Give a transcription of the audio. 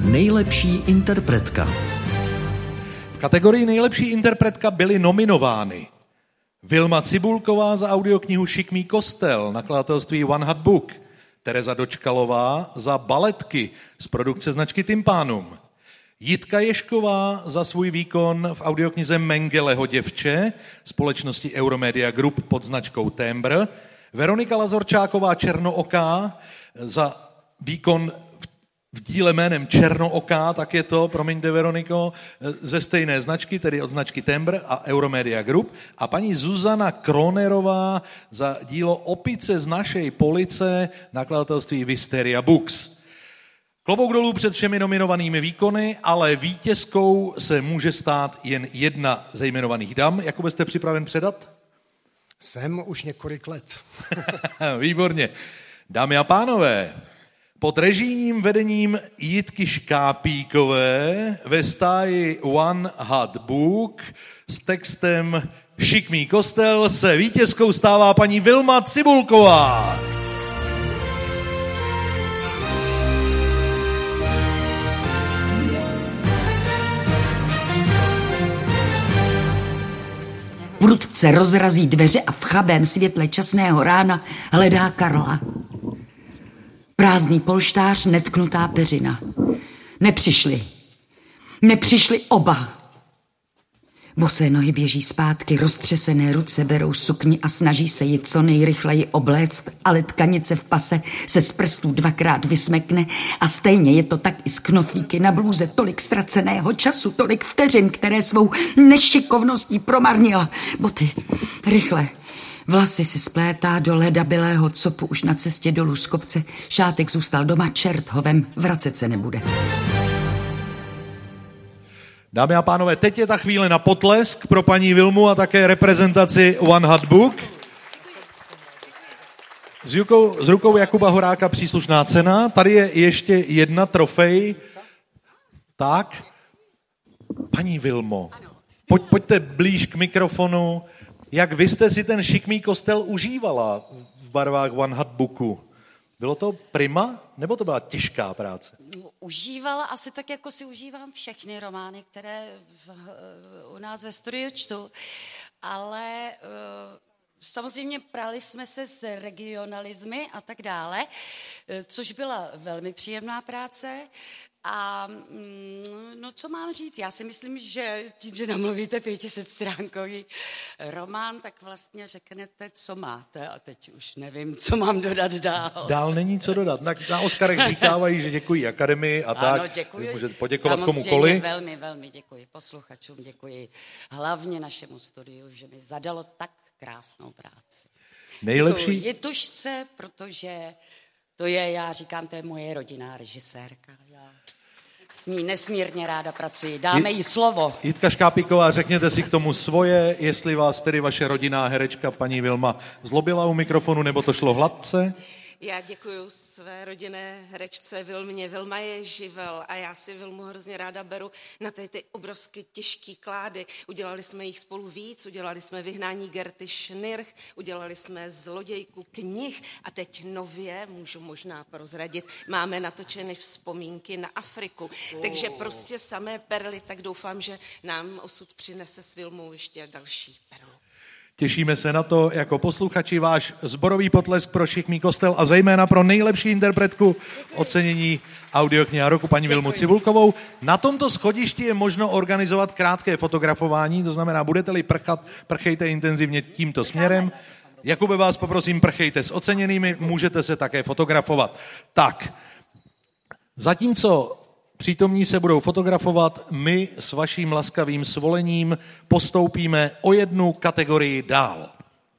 Nejlepší interpretka. V kategorii nejlepší interpretka byly nominovány Vilma Cibulková za audioknihu Šikmý kostel, nakladatelství One Hot Book, Tereza Dočkalová za Baletky z produkce značky Tympanum, Jitka Ježková za svůj výkon v audioknize Mengeleho děvče společnosti Euromedia Group pod značkou Tembr, Veronika Lazorčáková Černooká za výkon v díle jménem Černooká, tak je to, promiňte Veroniko, ze stejné značky, tedy od značky Tembr a Euromedia Group, a paní Zuzana Kronerová za dílo Opice z našej police, nakladatelství Wisteria Books. Klobouk dolů před všemi nominovanými výkony, ale vítězkou se může stát jen jedna ze jmenovaných dam. Jakube, jste připraven předat? Jsem už několik let. Výborně. Dámy a pánové, pod režijním vedením Jitky Škápíkové ve stáji One Hot Book s textem Šikmý kostel se vítězkou stává paní Vilma Cibulková. Prudce rozrazí dveře a v chabém světle časného rána hledá Karla. Prázdný polštář, netknutá peřina. Nepřišli oba. Bosé nohy běží zpátky, roztřesené ruce berou sukni a snaží se ji co nejrychleji obléct, ale tkanice v pase se z prstů dvakrát vysmekne a stejně je to tak i s knoflíky na blůze. Tolik ztraceného času, tolik vteřin, které svou nešikovností promarnila. Boty, rychle. Vlasy si splétá do ledabylého copu už na cestě dolů z kopce. Šátek zůstal doma, čert ho vem, vracet se nebude. Dámy a pánové, teď je ta chvíle na potlesk pro paní Vilmu a také reprezentaci One Hot Book. S rukou Jakuba Horáka příslušná cena. Tady je ještě jedna trofej. Tak, paní Vilmo, pojďte blíž k mikrofonu. Jak vy jste si ten Šikmý kostel užívala v barvách One Hot Booku? Bylo to prima, nebo to byla těžká práce? Užívala asi tak, jako si užívám všechny romány, které u nás ve studiu čtu, ale samozřejmě prali jsme se s regionalismy a tak dále, což byla velmi příjemná práce. A no, co mám říct? Já si myslím, že tím, že namluvíte 500stránkový román, tak vlastně řeknete, co máte. A teď už nevím, co mám dodat dál. Dál není co dodat. Na Oscarech říkávají, že děkují akademii a tak. Ano, děkuji. Můžete poděkovat samozřejmě komukoli. Velmi, velmi děkuji posluchačům, děkuji hlavně našemu studiu, že mi zadalo tak krásnou práci. Nejlepší? Děkuji Jitušce, protože to je, já říkám, to je moje rodinná režisérka. Já s ní nesmírně ráda pracuji. Dáme jí slovo. Jitka Škápíková, řekněte si k tomu svoje, jestli vás tedy vaše rodinná herečka paní Vilma zlobila u mikrofonu, nebo to šlo hladce? Já děkuju své rodinné herečce Vilmě. Vilma je živel a já si Vilmu hrozně ráda beru na ty obrovsky těžký klády. Udělali jsme jich spolu víc, udělali jsme Vyhnání Gerty Schnirch, udělali jsme Zlodějku knih a teď nově, můžu možná prozradit, máme natočeny Vzpomínky na Afriku. Takže prostě samé perly, tak doufám, že nám osud přinese s Vilmou ještě další perlu. Těšíme se na to jako posluchači. Váš sborový potlesk pro Šikmý kostel a zejména pro nejlepší interpretku ocenění audiokniha roku paní Vilmu Cibulkovou. Na tomto schodišti je možno organizovat krátké fotografování, to znamená, budete-li prchat, prchejte intenzivně tímto směrem. Jakube, vás poprosím, prchejte s oceněnými, můžete se také fotografovat. Tak, zatímco přítomní se budou fotografovat, my s vaším laskavým svolením postoupíme o jednu kategorii dál.